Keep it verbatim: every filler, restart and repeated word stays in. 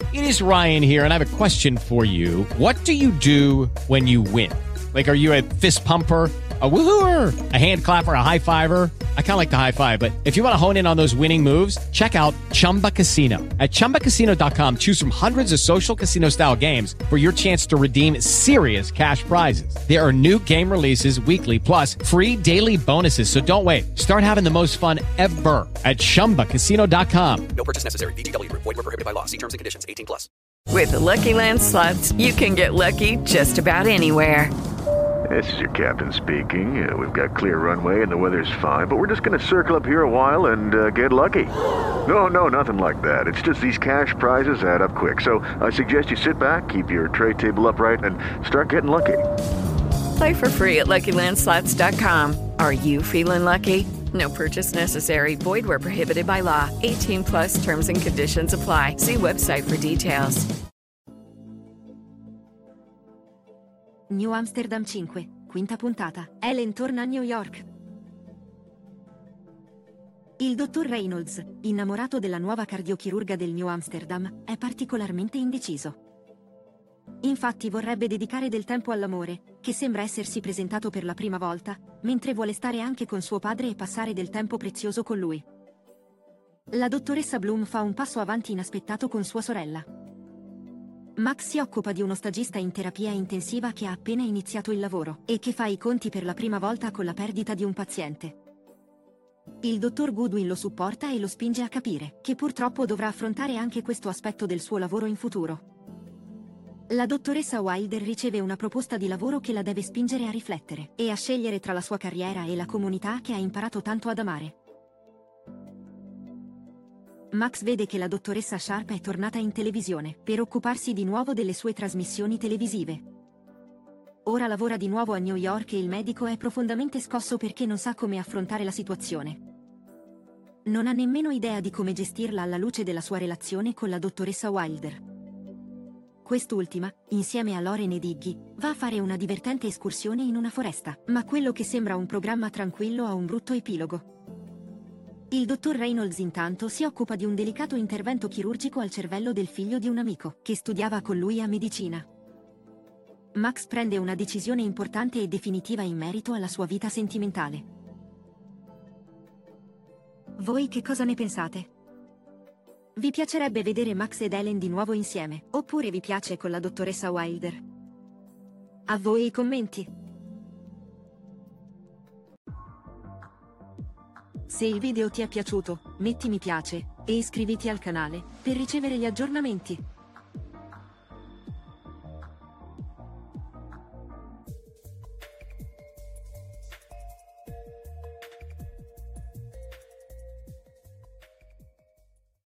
It is Ryan here, and I have a question for you. What do you do when you win? Like, are you a fist pumper, a woohooer, a hand clapper, a high fiver? I kind of like the high five, but if you want to hone in on those winning moves, check out Chumba Casino. At chumba casino dot com, choose from hundreds of social casino style games for your chance to redeem serious cash prizes. There are new game releases weekly, plus free daily bonuses. So don't wait. Start having the most fun ever at chumba casino dot com. No purchase necessary. V G W. Void where prohibited by law. See terms and conditions. eighteen plus. With the Lucky Land Slots, you can get lucky just about anywhere. This is your captain speaking. Uh, we've got clear runway and the weather's fine, but we're just going to circle up here a while and uh, get lucky. No, no, nothing like that. It's just these cash prizes add up quick. So I suggest you sit back, keep your tray table upright, and start getting lucky. Play for free at lucky land slots dot com. Are you feeling lucky? No purchase necessary. Void where prohibited by law. eighteen plus terms and conditions apply. See website for details. New Amsterdam cinque, quinta puntata. Ellen torna a New York. Il dottor Reynolds, innamorato della nuova cardiochirurga del New Amsterdam, è particolarmente indeciso. Infatti vorrebbe dedicare del tempo all'amore, che sembra essersi presentato per la prima volta, mentre vuole stare anche con suo padre e passare del tempo prezioso con lui. La dottoressa Bloom fa un passo avanti inaspettato con sua sorella. Max si occupa di uno stagista in terapia intensiva che ha appena iniziato il lavoro e che fa i conti per la prima volta con la perdita di un paziente. Il dottor Goodwin lo supporta e lo spinge a capire che purtroppo dovrà affrontare anche questo aspetto del suo lavoro in futuro. La dottoressa Wilder riceve una proposta di lavoro che la deve spingere a riflettere e a scegliere tra la sua carriera e la comunità che ha imparato tanto ad amare. Max vede che la dottoressa Sharp è tornata in televisione per occuparsi di nuovo delle sue trasmissioni televisive. Ora lavora di nuovo a New York e il medico è profondamente scosso perché non sa come affrontare la situazione. Non ha nemmeno idea di come gestirla alla luce della sua relazione con la dottoressa Wilder. Quest'ultima, insieme a Lauren ed Iggy, va a fare una divertente escursione in una foresta, ma quello che sembra un programma tranquillo ha un brutto epilogo. Il dottor Reynolds intanto si occupa di un delicato intervento chirurgico al cervello del figlio di un amico, che studiava con lui a medicina. Max prende una decisione importante e definitiva in merito alla sua vita sentimentale. Voi che cosa ne pensate? Vi piacerebbe vedere Max ed Ellen di nuovo insieme, oppure vi piace con la dottoressa Wilder? A voi i commenti! Se il video ti è piaciuto, metti mi piace e iscriviti al canale per ricevere gli aggiornamenti.